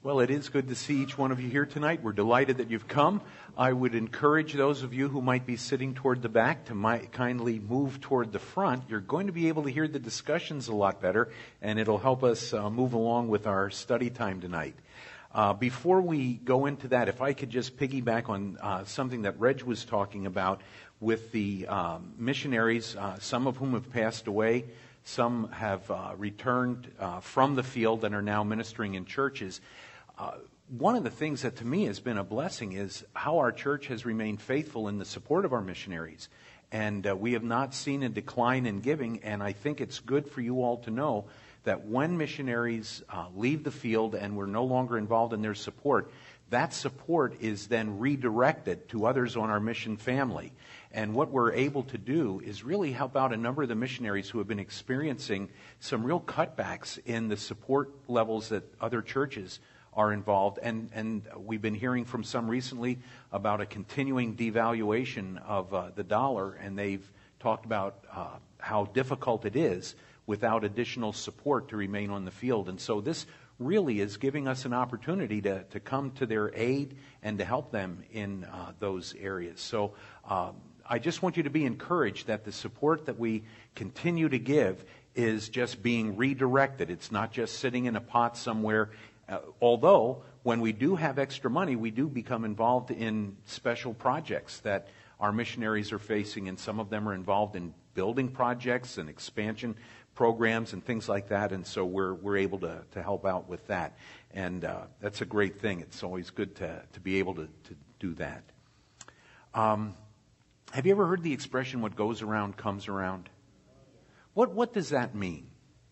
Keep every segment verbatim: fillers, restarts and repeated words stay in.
Well, it is good to see each one of you here tonight. We're delighted that you've come. I would encourage those of you who might be sitting toward the back to might kindly move toward the front. You're going to be able to hear the discussions a lot better, and it'll help us uh, move along with our study time tonight. Uh, before we go into that, if I could just piggyback on uh, something that Reg was talking about with the um, missionaries, uh, some of whom have passed away, some have uh, returned uh, from the field and are now ministering in churches. Uh, one of the things that to me has been a blessing is how our church has remained faithful in the support of our missionaries. And uh, we have not seen a decline in giving, and I think it's good for you all to know that when missionaries uh, leave the field and we're no longer involved in their support, that support is then redirected to others on our mission family. And what we're able to do is really help out a number of the missionaries who have been experiencing some real cutbacks in the support levels that other churches are involved, and, and we've been hearing from some recently about a continuing devaluation of uh, the dollar, and they've talked about uh, how difficult it is without additional support to remain on the field. And so this really is giving us an opportunity to, to come to their aid and to help them in uh, those areas. So um, I just want you to be encouraged that the support that we continue to give is just being redirected. It's not just sitting in a pot somewhere. Uh, although, when we do have extra money, we do become involved in special projects that our missionaries are facing, and some of them are involved in building projects and expansion programs and things like that, and so we're we're able to, to help out with that. And uh, that's a great thing. It's always good to, to be able to, to do that. Um, have you ever heard the expression, what goes around comes around? What what does that mean?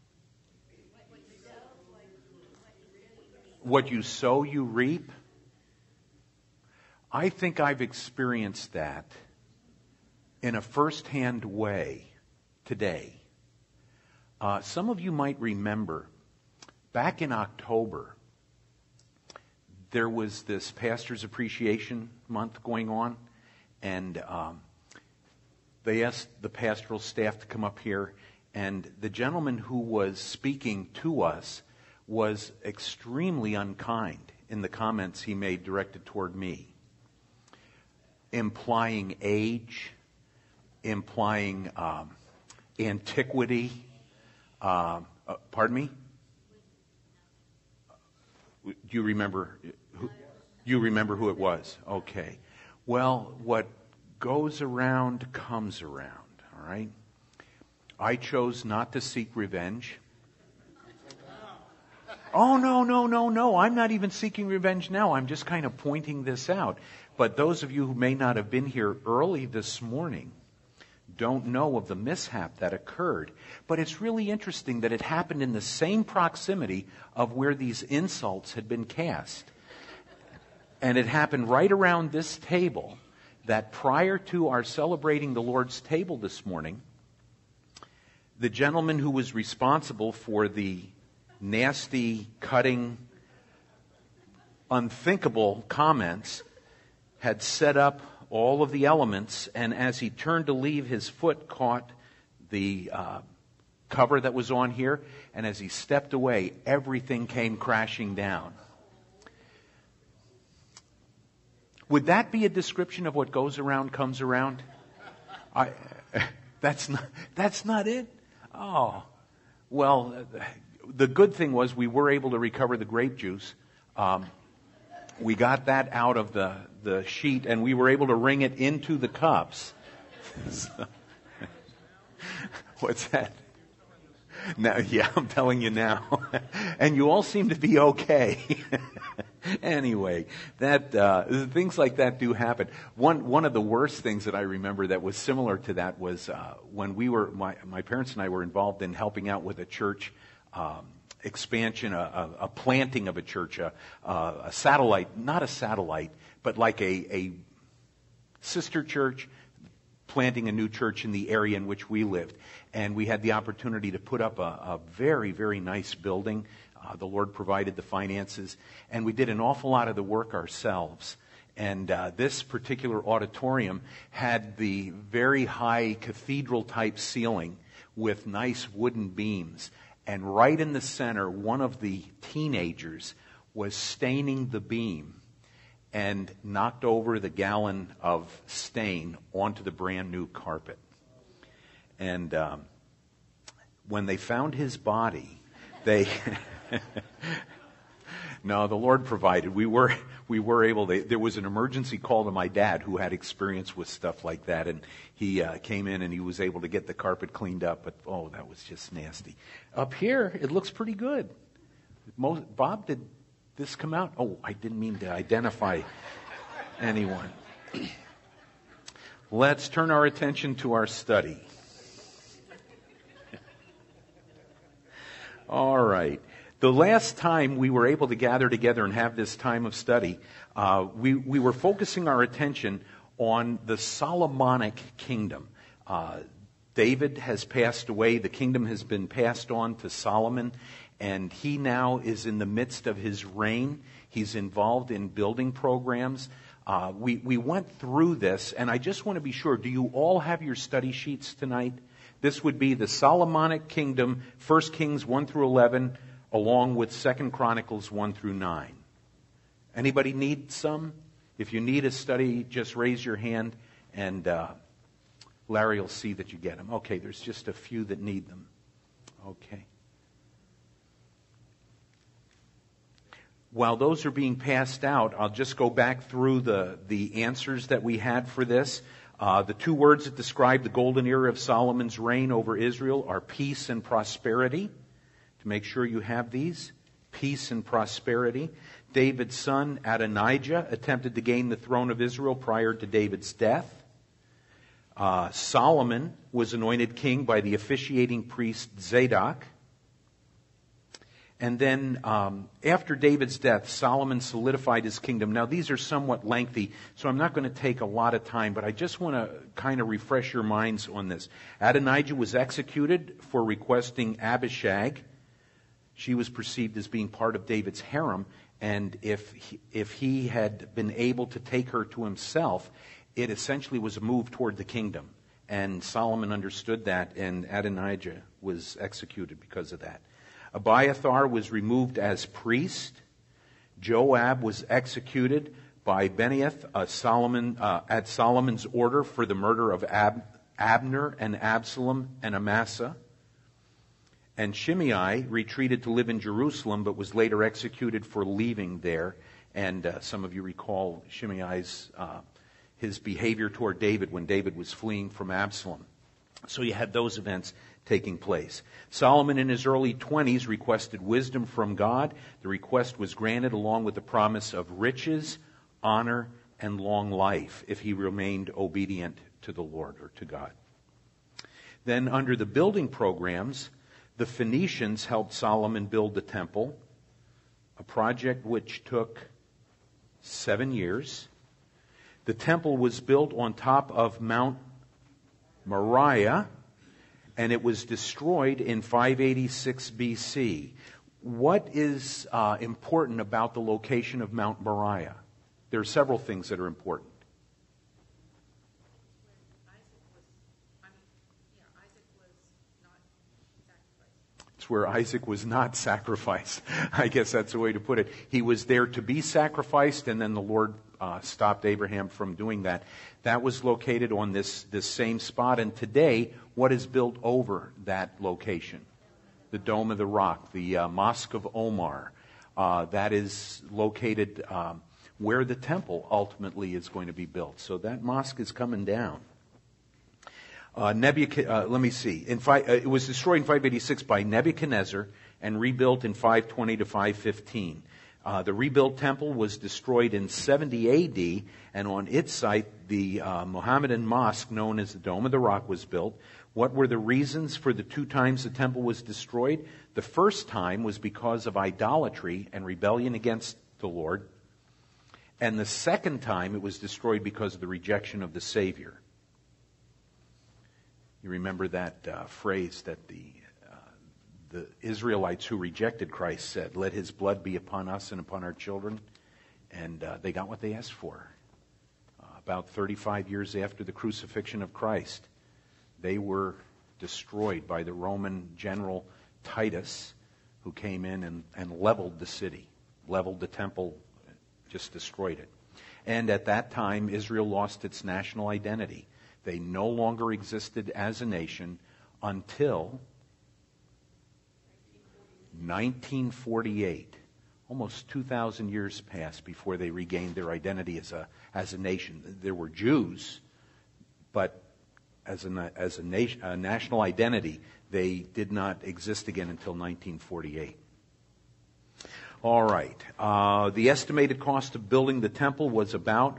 What you sow, you reap. I think I've experienced that in a first-hand way today. Uh, some of you might remember, back in October, there was this Pastor's Appreciation Month going on, and um, they asked the pastoral staff to come up here, and the gentleman who was speaking to us was extremely unkind in the comments he made directed toward me, implying age, implying um, antiquity. Uh, uh, pardon me? Do you remember? Who, you remember who it was? Okay. Well, what goes around comes around. All right. I chose not to seek revenge. Oh, no, no, no, no. I'm not even seeking revenge now. I'm just kind of pointing this out. But those of you who may not have been here early this morning don't know of the mishap that occurred. But it's really interesting that it happened in the same proximity of where these insults had been cast. And it happened right around this table, that prior to our celebrating the Lord's table this morning, the gentleman who was responsible for the nasty, cutting, unthinkable comments had set up all of the elements, and as he turned to leave, his foot caught the uh, cover that was on here, and as he stepped away, everything came crashing down. Would that be a description of what goes around comes around? I, that's not, that's not it? Oh, well, the good thing was we were able to recover the grape juice. Um, we got that out of the, the sheet, and we were able to wring it into the cups. So, what's that? Now, yeah, I'm telling you now. And you all seem to be okay. Anyway, that uh, things like that do happen. One one of the worst things that I remember that was similar to that was uh, when we were my my parents and I were involved in helping out with a church um, expansion, a, a, a planting of a church, a, a satellite, not a satellite, but like a, a sister church, planting a new church in the area in which we lived. And we had the opportunity to put up a, a very, very nice building. Uh, the Lord provided the finances, and we did an awful lot of the work ourselves. And uh, this particular auditorium had the very high cathedral-type ceiling with nice wooden beams. And right in the center, one of the teenagers was staining the beam and knocked over the gallon of stain onto the brand new carpet. And um, when they found his body, they... No, the Lord provided. We were we were able to. There was an emergency call to my dad who had experience with stuff like that, and he uh, came in and he was able to get the carpet cleaned up. But oh, that was just nasty. Up here, it looks pretty good. Most, Bob, did this come out? Oh, I didn't mean to identify anyone. Let's turn our attention to our study. All right. The last time we were able to gather together and have this time of study, uh, we, we were focusing our attention on the Solomonic kingdom. Uh, David has passed away. The kingdom has been passed on to Solomon, and he now is in the midst of his reign. He's involved in building programs. Uh, we, we went through this, and I just want to be sure, do you all have your study sheets tonight? This would be the Solomonic kingdom, First Kings one through eleven, along with Second Chronicles one through nine. Anybody need some? If you need a study, just raise your hand, and uh, Larry will see that you get them. Okay, there's just a few that need them. Okay. While those are being passed out, I'll just go back through the, the answers that we had for this. Uh, the two words that describe the golden era of Solomon's reign over Israel are peace and prosperity. To make sure you have these, peace and prosperity. David's son Adonijah attempted to gain the throne of Israel prior to David's death. Uh, Solomon was anointed king by the officiating priest Zadok. And then um, after David's death, Solomon solidified his kingdom. Now these are somewhat lengthy, so I'm not going to take a lot of time, but I just want to kind of refresh your minds on this. Adonijah was executed for requesting Abishag. She was perceived as being part of David's harem, and if he, if he had been able to take her to himself, it essentially was a move toward the kingdom. And Solomon understood that, and Adonijah was executed because of that. Abiathar was removed as priest. Joab was executed by Benaiah uh, Solomon, uh, at Solomon's order for the murder of Ab- Abner and Absalom and Amasa. And Shimei retreated to live in Jerusalem, but was later executed for leaving there. And uh, some of you recall Shimei's uh, his behavior toward David when David was fleeing from Absalom. So you had those events taking place. Solomon in his early twenties requested wisdom from God. The request was granted along with the promise of riches, honor, and long life if he remained obedient to the Lord or to God. Then under the building programs, the Phoenicians helped Solomon build the temple, a project which took seven years. The temple was built on top of Mount Moriah, and it was destroyed in five eighty-six B C. What is uh, important about the location of Mount Moriah? There are several things that are important. It's where Isaac was not sacrificed. I guess that's the way to put it. He was there to be sacrificed, and then the Lord uh, stopped Abraham from doing that. That was located on this, this same spot. And today, what is built over that location? The Dome of the Rock, the uh, Mosque of Omar. Uh, that is located um, where the temple ultimately is going to be built. So that mosque is coming down. Uh, Nebuchadnezzar, uh, let me see. In five, uh, it was destroyed in five eighty-six by Nebuchadnezzar and rebuilt in five twenty to five fifteen. Uh, the rebuilt temple was destroyed in seventy A D, and on its site, the uh, Mohammedan mosque known as the Dome of the Rock was built. What were the reasons for the two times the temple was destroyed? The first time was because of idolatry and rebellion against the Lord. And the second time it was destroyed because of the rejection of the Savior. You remember that uh, phrase that the uh, the Israelites who rejected Christ said, "Let his blood be upon us and upon our children." And uh, they got what they asked for. Uh, about thirty-five years after the crucifixion of Christ, they were destroyed by the Roman general Titus, who came in and, and leveled the city. leveled the temple, just destroyed it. And at that time, Israel lost its national identity. They no longer existed as a nation until nineteen forty-eight. Almost two thousand years passed before they regained their identity as a as a nation. There were Jews, but as a as a, nation, a national identity, they did not exist again until nineteen forty-eight. All right. Uh, the estimated cost of building the temple was about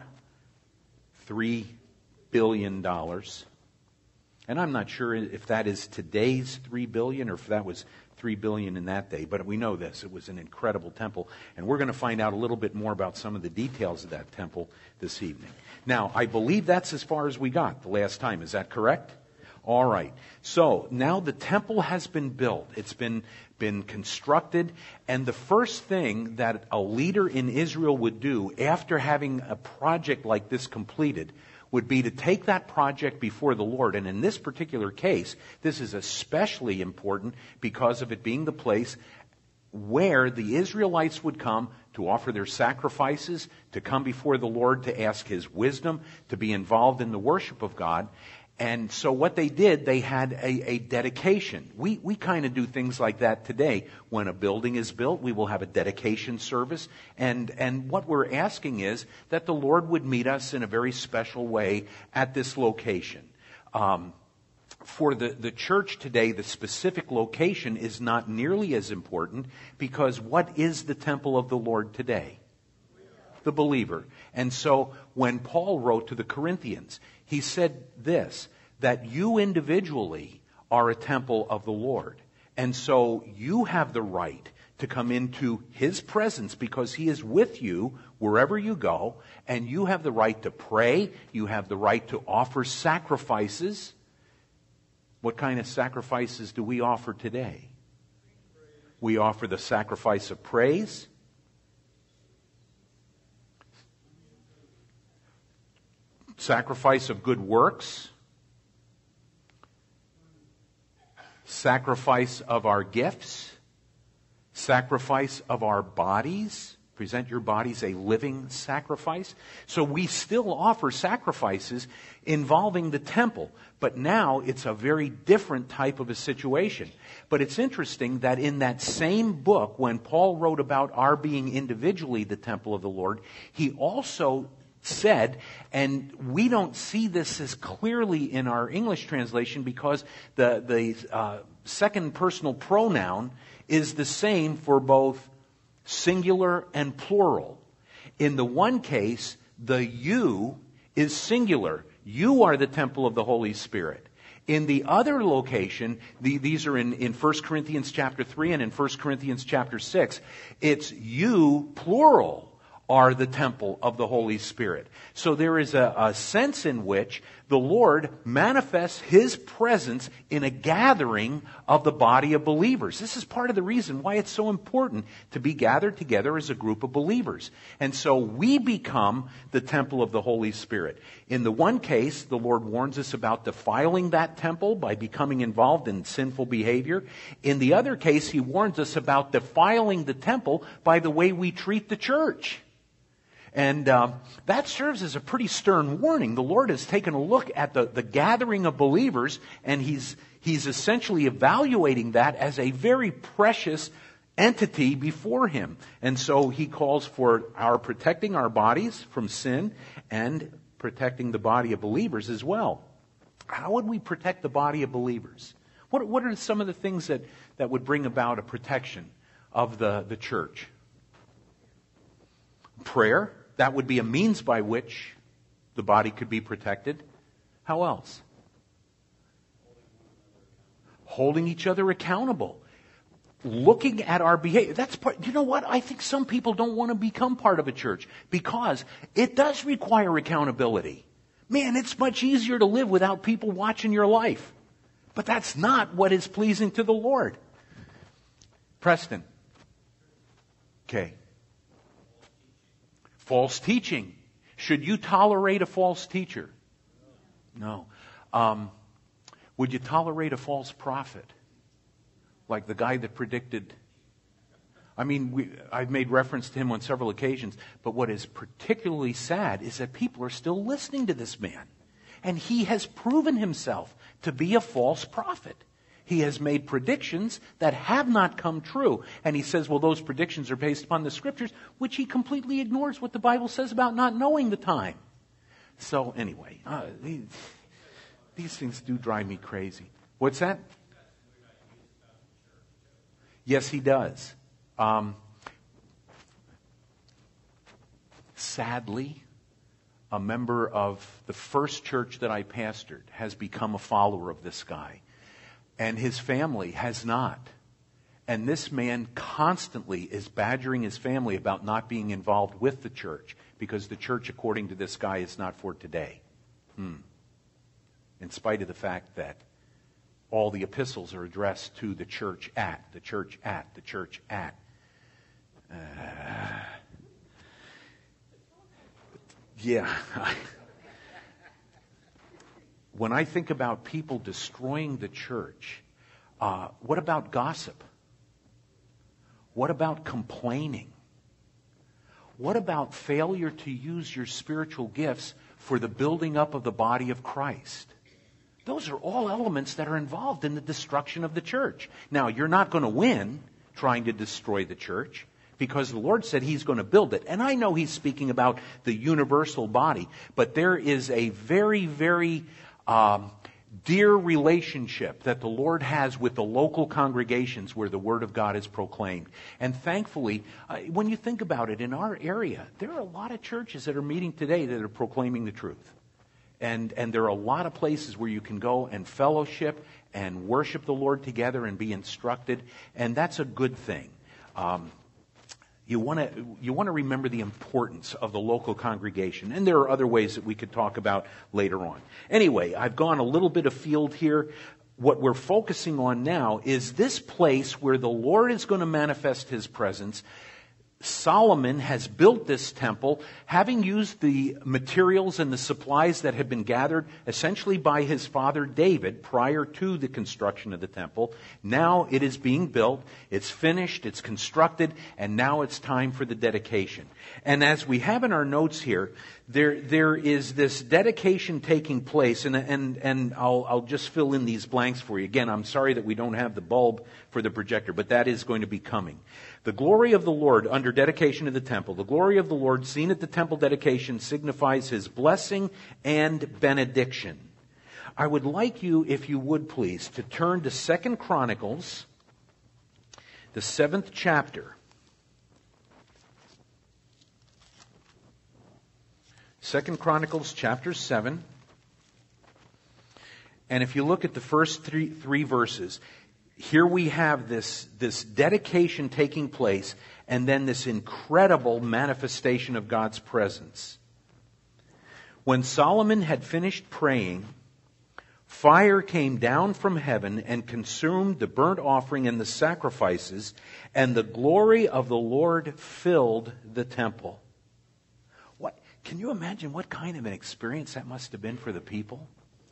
three billion dollars. And I'm not sure if that is today's three billion dollars or if that was three billion dollars in that day. But we know this. It was an incredible temple. And we're going to find out a little bit more about some of the details of that temple this evening. Now, I believe that's as far as we got the last time. Is that correct? All right. So now the temple has been built. It's been been constructed. And the first thing that a leader in Israel would do after having a project like this completed would be to take that project before the Lord. And in this particular case, this is especially important because of it being the place where the Israelites would come to offer their sacrifices, to come before the Lord to ask His wisdom, to be involved in the worship of God. And so what they did, they had a, a dedication. We we kind of do things like that today. When a building is built, we will have a dedication service. And, and what we're asking is that the Lord would meet us in a very special way at this location. Um, for the, the church today, the specific location is not nearly as important because what is the temple of the Lord today? The believer. And so when Paul wrote to the Corinthians, he said this, that you individually are a temple of the Lord. And so you have the right to come into His presence because He is with you wherever you go. And you have the right to pray. You have the right to offer sacrifices. What kind of sacrifices do we offer today? We offer the sacrifice of praise. Sacrifice of good works, sacrifice of our gifts, sacrifice of our bodies. Present your bodies a living sacrifice. So we still offer sacrifices involving the temple, but now it's a very different type of a situation. But it's interesting that in that same book, when Paul wrote about our being individually the temple of the Lord, he also said, and we don't see this as clearly in our English translation because the, the uh, second personal pronoun is the same for both singular and plural. In the one case, the you is singular. You are the temple of the Holy Spirit. In the other location, the, these are in, in First Corinthians chapter three and in First Corinthians chapter six, it's you, plural, are the temple of the Holy Spirit. So there is a, a sense in which the Lord manifests His presence in a gathering of the body of believers. This is part of the reason why it's so important to be gathered together as a group of believers. And so we become the temple of the Holy Spirit. In the one case, the Lord warns us about defiling that temple by becoming involved in sinful behavior. In the other case, He warns us about defiling the temple by the way we treat the church. And uh, that serves as a pretty stern warning. The Lord has taken a look at the, the gathering of believers, and He's He's essentially evaluating that as a very precious entity before Him. And so He calls for our protecting our bodies from sin and protecting the body of believers as well. How would we protect the body of believers? What, what are some of the things that, that would bring about a protection of the, the church? Prayer. That would be a means by which the body could be protected. How else? Holding each other accountable. Looking at our behavior. That's part, you know what? I think some people don't want to become part of a church because it does require accountability. Man, it's much easier to live without people watching your life. But that's not what is pleasing to the Lord. Preston. Okay. False teaching. Should you tolerate a false teacher? No. Um, would you tolerate a false prophet? Like the guy that predicted I mean, we, I've made reference to him on several occasions, but what is particularly sad is that people are still listening to this man. And he has proven himself to be a false prophet. He has made predictions that have not come true. And he says, well, those predictions are based upon the Scriptures, which he completely ignores what the Bible says about not knowing the time. So anyway, uh, these, these things do drive me crazy. What's that? Yes, he does. Um, sadly, a member of the first church that I pastored has become a follower of this guy. And his family has not. And this man constantly is badgering his family about not being involved with the church, because the church, according to this guy, is not for today. Hmm. In spite of the fact that all the epistles are addressed to the church at, the church at, the church at. Uh, yeah. When I think about people destroying the church, uh, what about gossip? What about complaining? What about failure to use your spiritual gifts for the building up of the body of Christ? Those are all elements that are involved in the destruction of the church. Now, you're not going to win trying to destroy the church, because the Lord said He's going to build it. And I know He's speaking about the universal body, but there is a very, very um, dear relationship that the Lord has with the local congregations where the Word of God is proclaimed. And thankfully, uh, when you think about it, in our area, there are a lot of churches that are meeting today that are proclaiming the truth. And, and there are a lot of places where you can go and fellowship and worship the Lord together and be instructed. And that's a good thing. Um, You want to you want to remember the importance of the local congregation. And there are other ways that we could talk about later on. Anyway, I've gone a little bit afield here. What we're focusing on now is this place where the Lord is going to manifest His presence. Solomon has built this temple, having used the materials and the supplies that had been gathered essentially by his father David prior to the construction of the temple. Now it is being built, it's finished, it's constructed, and now it's time for the dedication. And as we have in our notes here, there there is this dedication taking place, and and and I'll I'll just fill in these blanks for you. Again, I'm sorry that we don't have the bulb for the projector, but that is going to be coming. The glory of the Lord under dedication of the temple, the glory of the Lord seen at the temple dedication signifies His blessing and benediction. I would like you, if you would please, to turn to Second Chronicles, the seventh chapter. Second Chronicles chapter seven. And if you look at the first three, three verses, here we have this, this dedication taking place, and then this incredible manifestation of God's presence. When Solomon had finished praying, fire came down from heaven and consumed the burnt offering and the sacrifices, and the glory of the Lord filled the temple. What? Can you imagine what kind of an experience that must have been for the people?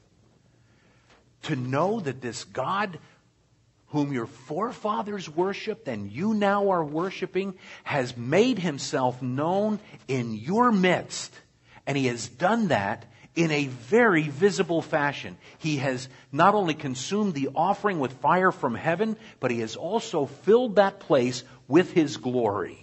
To know that this God whom your forefathers worshipped and you now are worshiping has made Himself known in your midst. And He has done that in a very visible fashion. He has not only consumed the offering with fire from heaven, but He has also filled that place with His glory.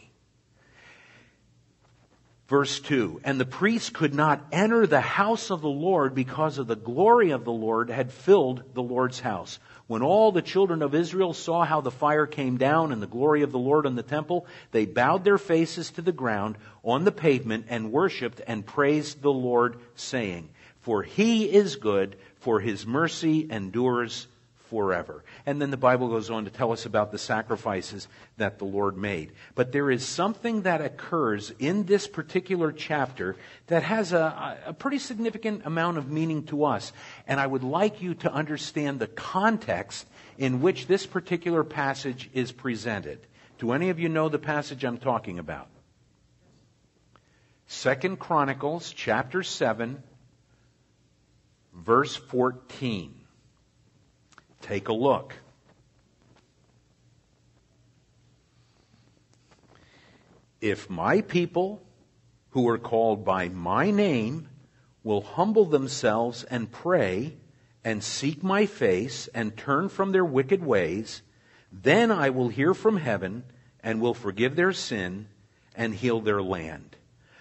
Verse two, and the priests could not enter the house of the Lord because of the glory of the Lord had filled the Lord's house. When all the children of Israel saw how the fire came down and the glory of the Lord on the temple, they bowed their faces to the ground on the pavement and worshipped and praised the Lord, saying, for He is good, for His mercy endures forever. And then the Bible goes on to tell us about the sacrifices that the Lord made. But there is something that occurs in this particular chapter that has a, a pretty significant amount of meaning to us. And I would like you to understand the context in which this particular passage is presented. Do any of you know the passage I'm talking about? Second Chronicles chapter seven, verse fourteen. Take a look. If my people who are called by my name will humble themselves and pray and seek my face and turn from their wicked ways, then I will hear from heaven and will forgive their sin and heal their land.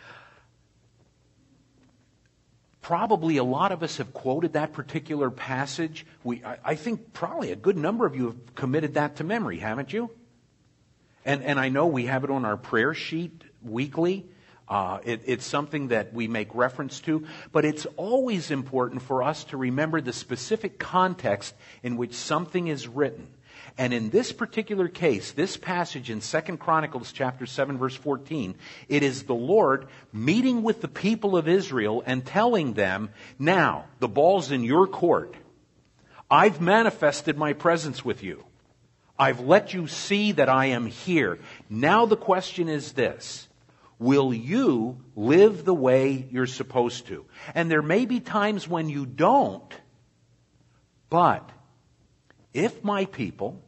Probably a lot of us have quoted that particular passage. We, I, I think probably a good number of you have committed that to memory, haven't you? And, and I know we have it on our prayer sheet weekly. Uh, it, it's something that we make reference to. But it's always important for us to remember the specific context in which something is written. And in this particular case, this passage in Second Chronicles chapter seven, verse fourteen, it is the Lord meeting with the people of Israel and telling them, now, the ball's in your court. I've manifested my presence with you. I've let you see that I am here. Now the question is this: will you live the way you're supposed to? And there may be times when you don't, but if my people,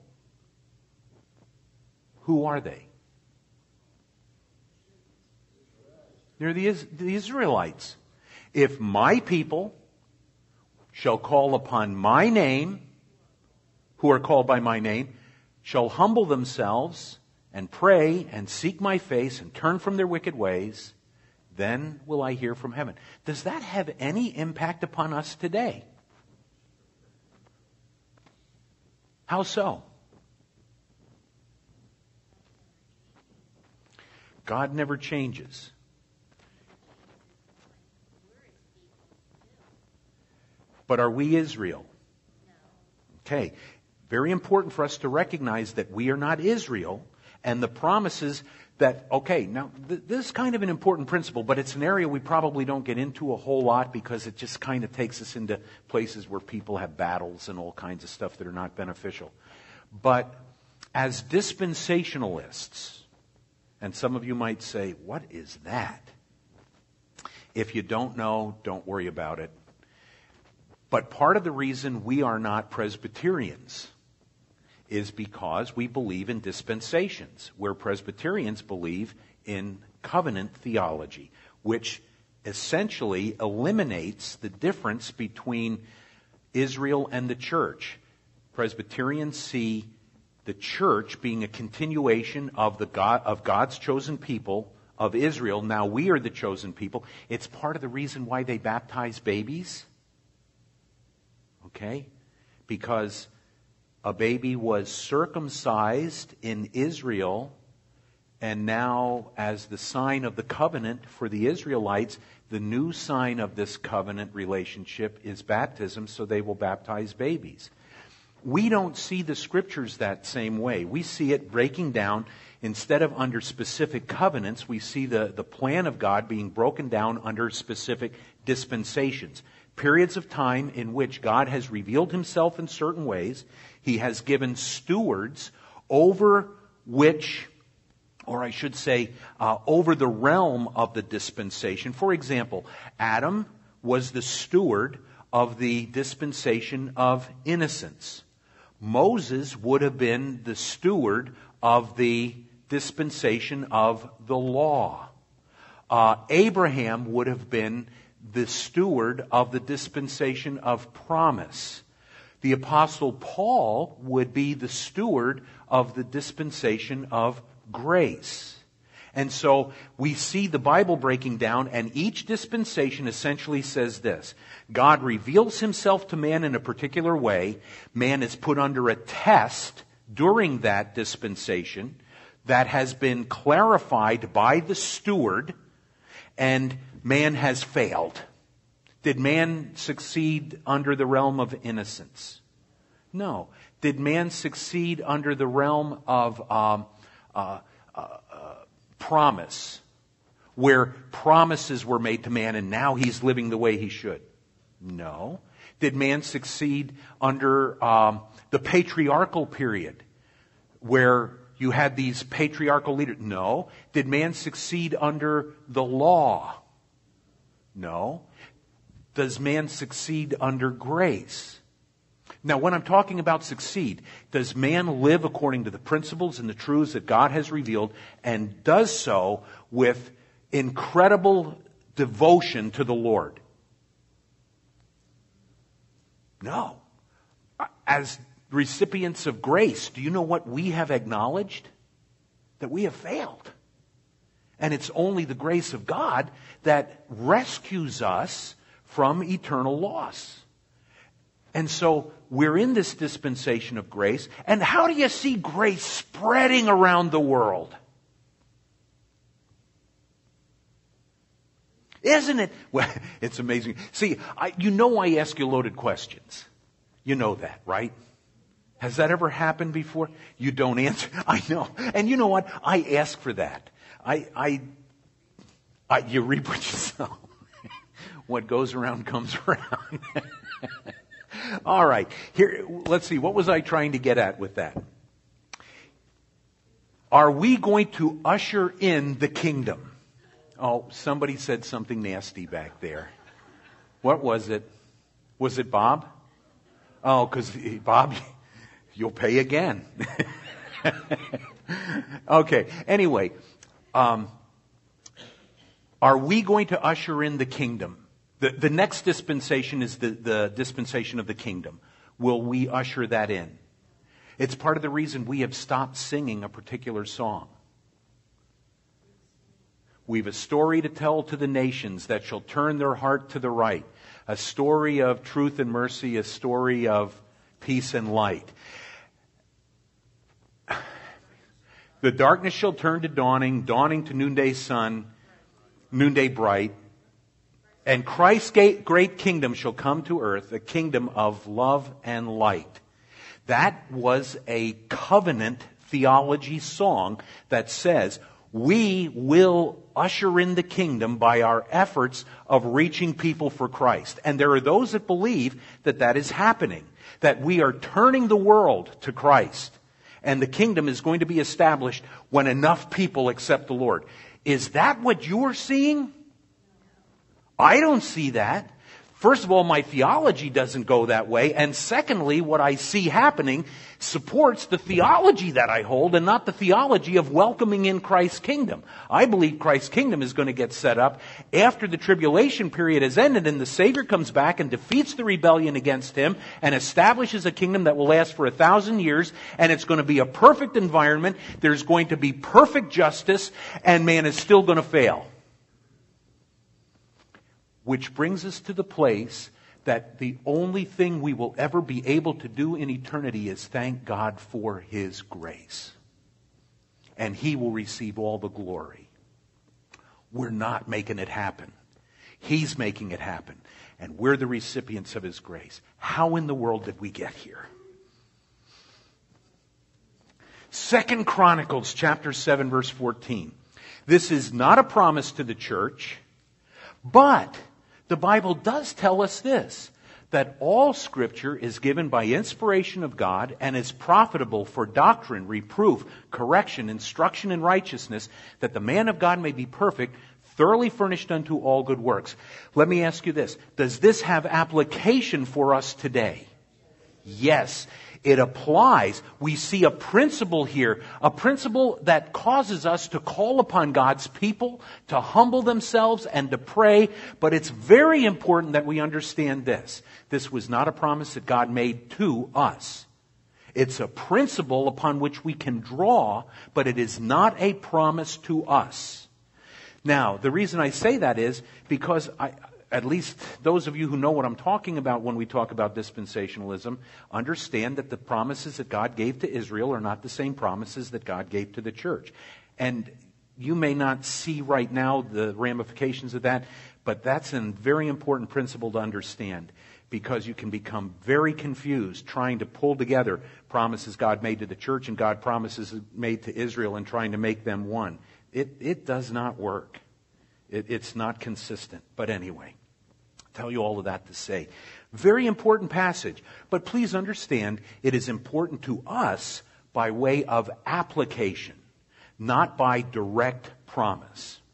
who are they? They're the, the Israelites. If my people shall call upon my name, who are called by my name, shall humble themselves and pray and seek my face and turn from their wicked ways, then will I hear from heaven. Does that have any impact upon us today? How so? God never changes. But are we Israel? Okay. Very important for us to recognize that we are not Israel, and the promises that, okay, now th- this is kind of an important principle, but it's an area we probably don't get into a whole lot because it just kind of takes us into places where people have battles and all kinds of stuff that are not beneficial. But as dispensationalists, and some of you might say, what is that? If you don't know, don't worry about it. But part of the reason we are not Presbyterians is because we believe in dispensations, where Presbyterians believe in covenant theology, which essentially eliminates the difference between Israel and the church. Presbyterians see the church being a continuation of the God, of God's chosen people of Israel. Now we are the chosen people. It's part of the reason why they baptize babies. Okay? Because a baby was circumcised in Israel, and now as the sign of the covenant for the Israelites, the new sign of this covenant relationship is baptism, so they will baptize babies. We don't see the Scriptures that same way. We see it breaking down. Instead of under specific covenants, we see the, the plan of God being broken down under specific dispensations. Periods of time in which God has revealed Himself in certain ways. He has given stewards over which, or I should say, uh, over the realm of the dispensation. For example, Adam was the steward of the dispensation of innocence. Moses would have been the steward of the dispensation of the law. Uh, Abraham would have been the steward of the dispensation of promise. The Apostle Paul would be the steward of the dispensation of grace. And so we see the Bible breaking down, and each dispensation essentially says this: God reveals Himself to man in a particular way. Man is put under a test during that dispensation that has been clarified by the steward, and man has failed. Did man succeed under the realm of innocence? No. Did man succeed under the realm of um, uh, uh, uh, promise, where promises were made to man and now he's living the way he should? No. Did man succeed under um, the patriarchal period, where you had these patriarchal leaders? No. Did man succeed under the law? No. Does man succeed under grace? Now, when I'm talking about succeed, does man live according to the principles and the truths that God has revealed, and does so with incredible devotion to the Lord? No. As recipients of grace, do you know what we have acknowledged? That we have failed. And it's only the grace of God that rescues us from eternal loss. And so we're in this dispensation of grace. And how do you see grace spreading around the world? Isn't it? Well, it's amazing. See, I, you know I ask you loaded questions. You know that, right? Has that ever happened before? You don't answer. I know. And you know what? I ask for that. I, I, I you reap what you sow. What goes around comes around. All right. Here, let's see. What was I trying to get at with that? Are we going to usher in the kingdom? Oh, somebody said something nasty back there. What was it? Was it Bob? Oh, because Bob, you'll pay again. Okay. Anyway, um, are we going to usher in the kingdom? The, the next dispensation is the, the dispensation of the kingdom. Will we usher that in? It's part of the reason we have stopped singing a particular song. We've a story to tell to the nations that shall turn their heart to the right. A story of truth and mercy, a story of peace and light. The darkness shall turn to dawning, dawning to noonday sun, noonday bright. And Christ's great kingdom shall come to earth, a kingdom of love and light. That was a covenant theology song that says, we will usher in the kingdom by our efforts of reaching people for Christ. And there are those that believe that that is happening, that we are turning the world to Christ. And the kingdom is going to be established when enough people accept the Lord. Is that what you're seeing? I don't see that. First of all, my theology doesn't go that way. And secondly, what I see happening supports the theology that I hold and not the theology of welcoming in Christ's kingdom. I believe Christ's kingdom is going to get set up after the tribulation period has ended and the Savior comes back and defeats the rebellion against Him and establishes a kingdom that will last for a thousand years, and it's going to be a perfect environment. There's going to be perfect justice, and man is still going to fail. Which brings us to the place that the only thing we will ever be able to do in eternity is thank God for His grace. And He will receive all the glory. We're not making it happen. He's making it happen. And we're the recipients of His grace. How in the world did we get here? Second Chronicles chapter seven verse fourteen. This is not a promise to the church, but the Bible does tell us this, that all Scripture is given by inspiration of God and is profitable for doctrine, reproof, correction, instruction in righteousness, that the man of God may be perfect, thoroughly furnished unto all good works. Let me ask you this. Does this have application for us today? Yes. It applies. We see a principle here, a principle that causes us to call upon God's people, to humble themselves and to pray. But it's very important that we understand this. This was not a promise that God made to us. It's a principle upon which we can draw, but it is not a promise to us. Now, the reason I say that is because I... At least those of you who know what I'm talking about when we talk about dispensationalism understand that the promises that God gave to Israel are not the same promises that God gave to the church. And you may not see right now the ramifications of that, but that's a very important principle to understand, because you can become very confused trying to pull together promises God made to the church and God promises made to Israel and trying to make them one. It, it does not work. It, it's not consistent. But anyway, I'll tell you all of that to say. Very important passage. But please understand, it is important to us by way of application, not by direct promise.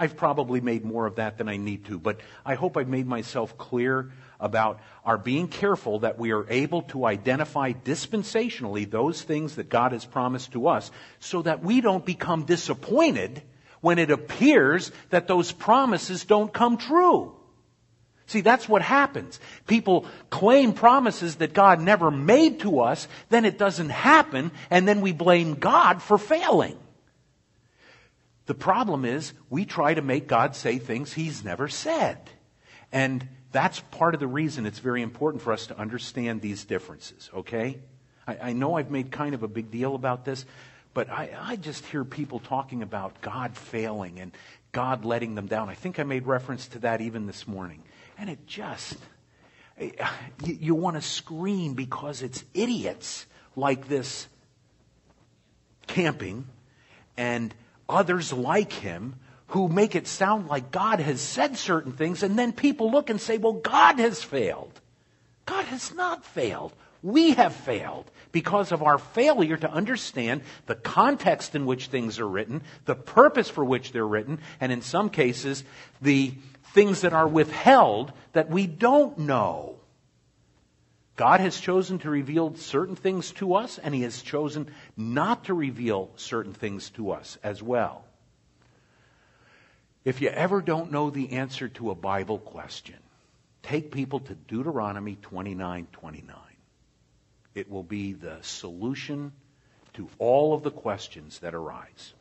I've probably made more of that than I need to, but I hope I've made myself clear about our being careful that we are able to identify dispensationally those things that God has promised to us so that we don't become disappointed when it appears that those promises don't come true. See, that's what happens. People claim promises that God never made to us, then it doesn't happen, and then we blame God for failing. The problem is we try to make God say things He's never said. And that's part of the reason it's very important for us to understand these differences, okay? I, I know I've made kind of a big deal about this, but I, I just hear people talking about God failing and God letting them down. I think I made reference to that even this morning. And it just, you, you want to scream because it's idiots like this camping and others like him who make it sound like God has said certain things, and then people look and say, well, God has failed. God has not failed. We have failed because of our failure to understand the context in which things are written, the purpose for which they're written, and in some cases, the things that are withheld that we don't know. God has chosen to reveal certain things to us, and He has chosen not to reveal certain things to us as well. If you ever don't know the answer to a Bible question, take people to Deuteronomy twenty-nine twenty-nine. It will be the solution to all of the questions that arise.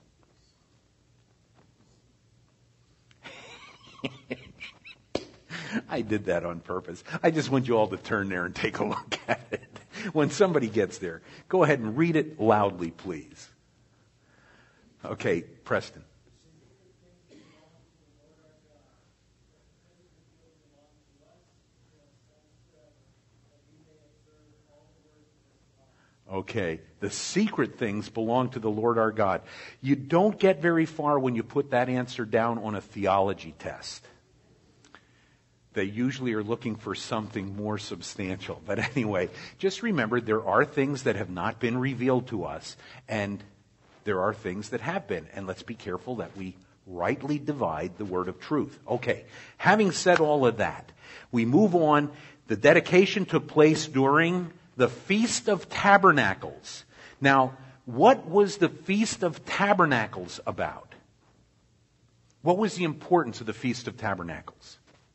I did that on purpose. I just want you all to turn there and take a look at it. When somebody gets there, go ahead and read it loudly, please. Okay, Preston. Okay, the secret things belong to the Lord our God. You don't get very far when you put that answer down on a theology test. They usually are looking for something more substantial. But anyway, just remember there are things that have not been revealed to us, and there are things that have been. And let's be careful that we rightly divide the word of truth. Okay, having said all of that, we move on. The dedication took place during the Feast of Tabernacles. Now, what was the Feast of Tabernacles about? What was the importance of the Feast of Tabernacles?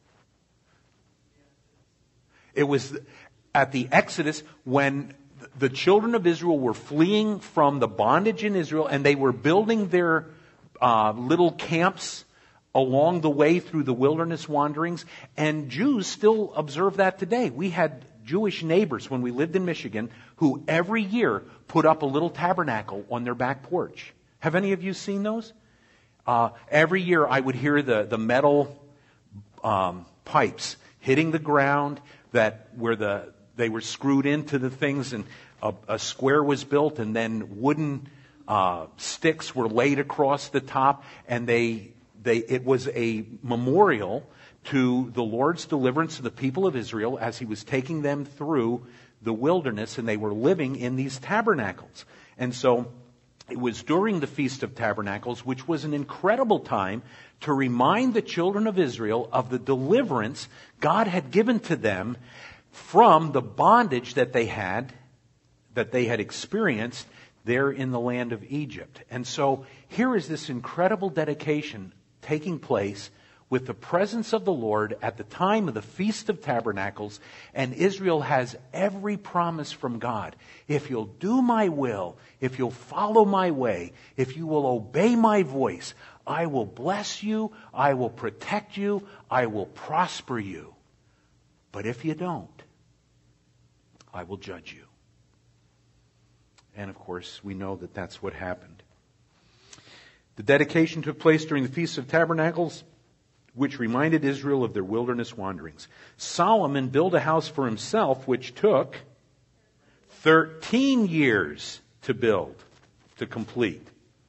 It was at the Exodus when the children of Israel were fleeing from the bondage in Israel, and they were building their uh, little camps along the way through the wilderness wanderings. And Jews still observe that today. We had Jewish neighbors when we lived in Michigan who every year put up a little tabernacle on their back porch. Have any of you seen those? Uh, every year I would hear the, the metal um, pipes hitting the ground that where the they were screwed into the things, and a, a square was built, and then wooden uh, sticks were laid across the top, and they they it was a memorial to the Lord's deliverance of the people of Israel as He was taking them through the wilderness, and they were living in these tabernacles. And so it was during the Feast of Tabernacles, which was an incredible time to remind the children of Israel of the deliverance God had given to them from the bondage that they had, that they had experienced there in the land of Egypt. And so here is this incredible dedication taking place with the presence of the Lord at the time of the Feast of Tabernacles, and Israel has every promise from God. If you'll do my will, if you'll follow my way, if you will obey my voice, I will bless you, I will protect you, I will prosper you. But if you don't, I will judge you. And of course, we know that that's what happened. The dedication took place during the Feast of Tabernacles, which reminded Israel of their wilderness wanderings. Solomon built a house for himself, which took thirteen years to build, to complete.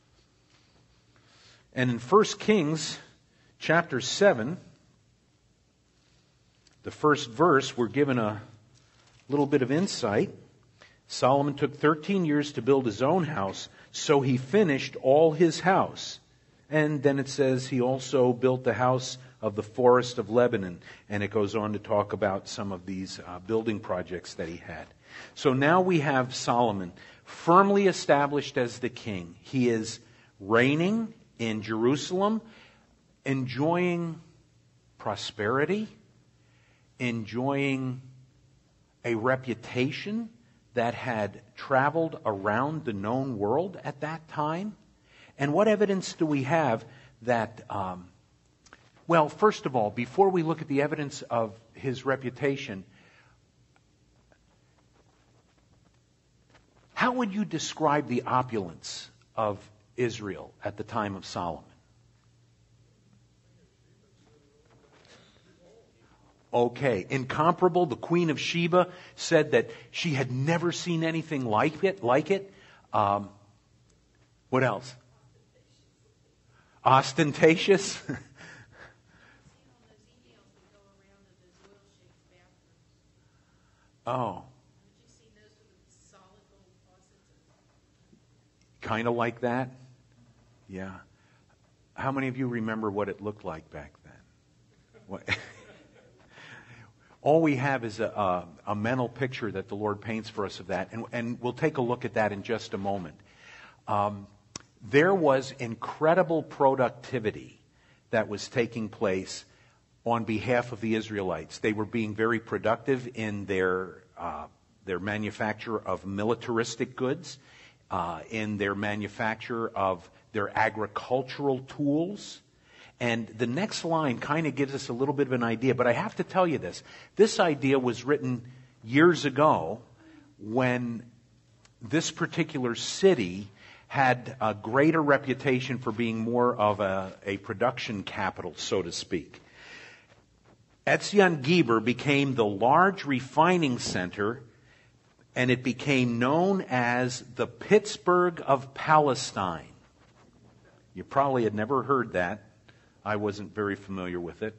And in First Kings chapter seven, the first verse, we're given a little bit of insight. Solomon took thirteen years to build his own house, so he finished all his house. And then it says he also built the house of the forest of Lebanon. And it goes on to talk about some of these uh, building projects that he had. So now we have Solomon firmly established as the king. He is reigning in Jerusalem, enjoying prosperity, enjoying a reputation that had traveled around the known world at that time. And what evidence do we have that, um, well, first of all, before we look at the evidence of his reputation, how would you describe the opulence of Israel at the time of Solomon? Okay, incomparable. The Queen of Sheba said that she had never seen anything like it. Like it. Um, what else? Ostentatious. Oh. Kind of like that? Yeah. How many of you remember what it looked like back then? What? All we have is a, a, a mental picture that the Lord paints for us of that, and, and we'll take a look at that in just a moment. Um, there was incredible productivity that was taking place on behalf of the Israelites. They were being very productive in their uh, their manufacture of militaristic goods, uh, in their manufacture of their agricultural tools. And the next line kind of gives us a little bit of an idea, but I have to tell you this. This idea was written years ago when this particular city had a greater reputation for being more of a, a production capital, so to speak. Etzion Geber became the large refining center, and it became known as the Pittsburgh of Palestine. You probably had never heard that. I wasn't very familiar with it.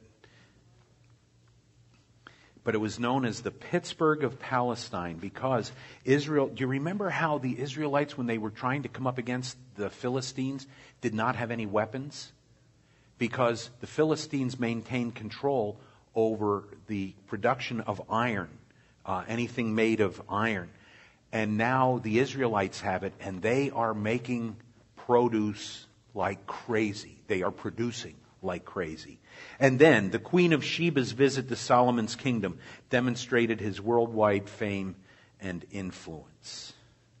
But it was known as the Pittsburgh of Palestine because Israel, do you remember how the Israelites, when they were trying to come up against the Philistines, did not have any weapons? Because the Philistines maintained control over the production of iron, uh, anything made of iron. And now the Israelites have it, and they are making produce like crazy. They are producing like crazy. And then the Queen of Sheba's visit to Solomon's kingdom demonstrated his worldwide fame and influence.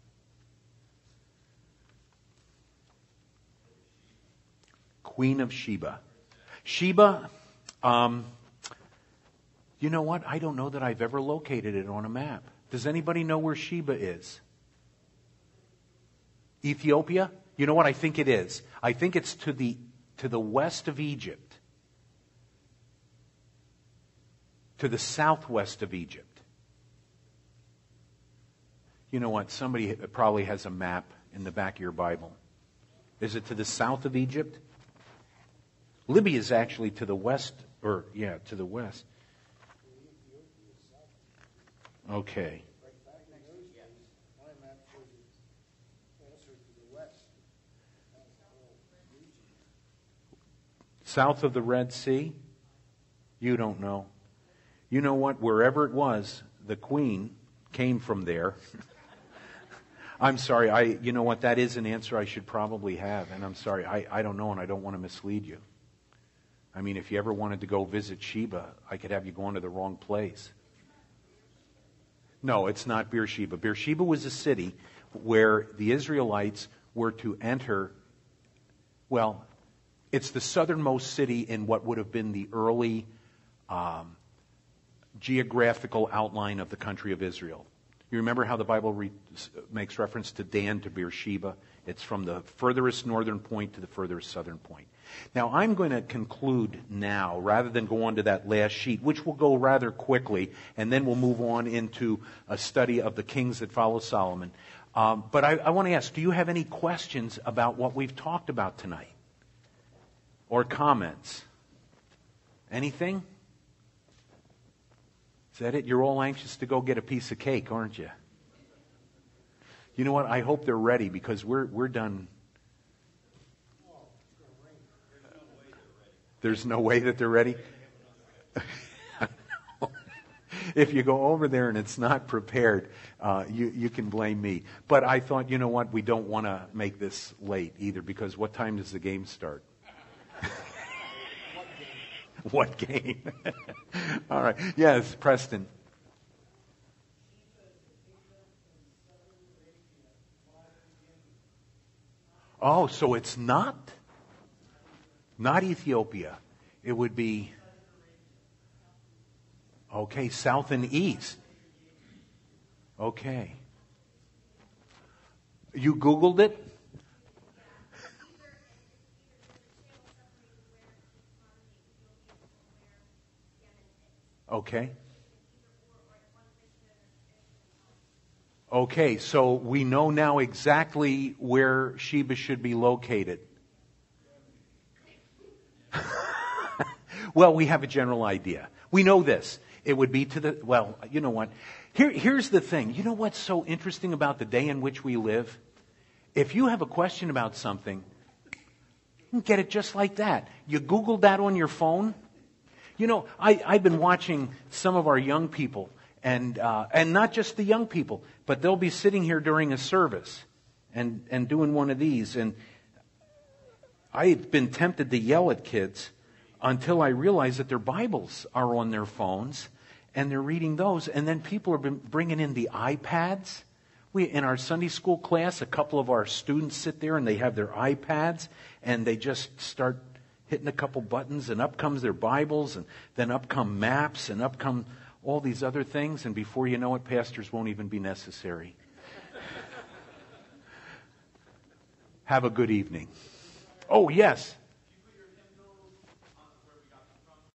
Queen of Sheba. Sheba, um, you know what? I don't know that I've ever located it on a map. Does anybody know where Sheba is? Ethiopia? You know what I think it is? I think it's to the to the west of Egypt. To the southwest of Egypt. You know what? Somebody probably has a map in the back of your Bible. Is it to the south of Egypt? Libya is actually to the west, or yeah, to the west. Okay. South of the Red Sea? You don't know. You know what? Wherever it was, the queen came from there. I'm sorry. I. You know what? That is an answer I should probably have. And I'm sorry. I, I don't know, and I don't want to mislead you. I mean, if you ever wanted to go visit Sheba, I could have you going to the wrong place. No, it's not Beersheba. Beersheba was a city where the Israelites were to enter, well, it's the southernmost city in what would have been the early um, geographical outline of the country of Israel. You remember how the Bible re- makes reference to Dan to Beersheba? It's from the furthest northern point to the furthest southern point. Now, I'm going to conclude now, rather than go on to that last sheet, which will go rather quickly, and then we'll move on into a study of the kings that follow Solomon. Um, but I, I want to ask, do you have any questions about what we've talked about tonight? Or comments? Anything? Is that it? You're all anxious to go get a piece of cake, aren't you? You know what? I hope they're ready because we're we're done. There's no way that they're ready? If you go over there and it's not prepared, uh, you, you can blame me. But I thought, you know what, we don't want to make this late either, because what time does the game start? What game? All right. Yes, Preston. Oh, so it's not? Not Ethiopia. It would be... Okay, south and east. Okay. You Googled it? Okay. Okay, so we know now exactly where Sheba should be located. Well, we have a general idea. We know this. It would be to the, well, you know what? Here, here's the thing. You know what's so interesting about the day in which we live? If you have a question about something, you can get it just like that. You Googled that on your phone. You know, I, I've been watching some of our young people, and uh, and not just the young people, but they'll be sitting here during a service and, and doing one of these. And I've been tempted to yell at kids until I realize that their Bibles are on their phones, and they're reading those. And then people have been bringing in the iPads. We, in our Sunday school class, a couple of our students sit there and they have their iPads, and they just start hitting a couple buttons, and up comes their Bibles, and then up come maps, and up come all these other things, and before you know it, pastors won't even be necessary. Have a good evening. Oh, yes.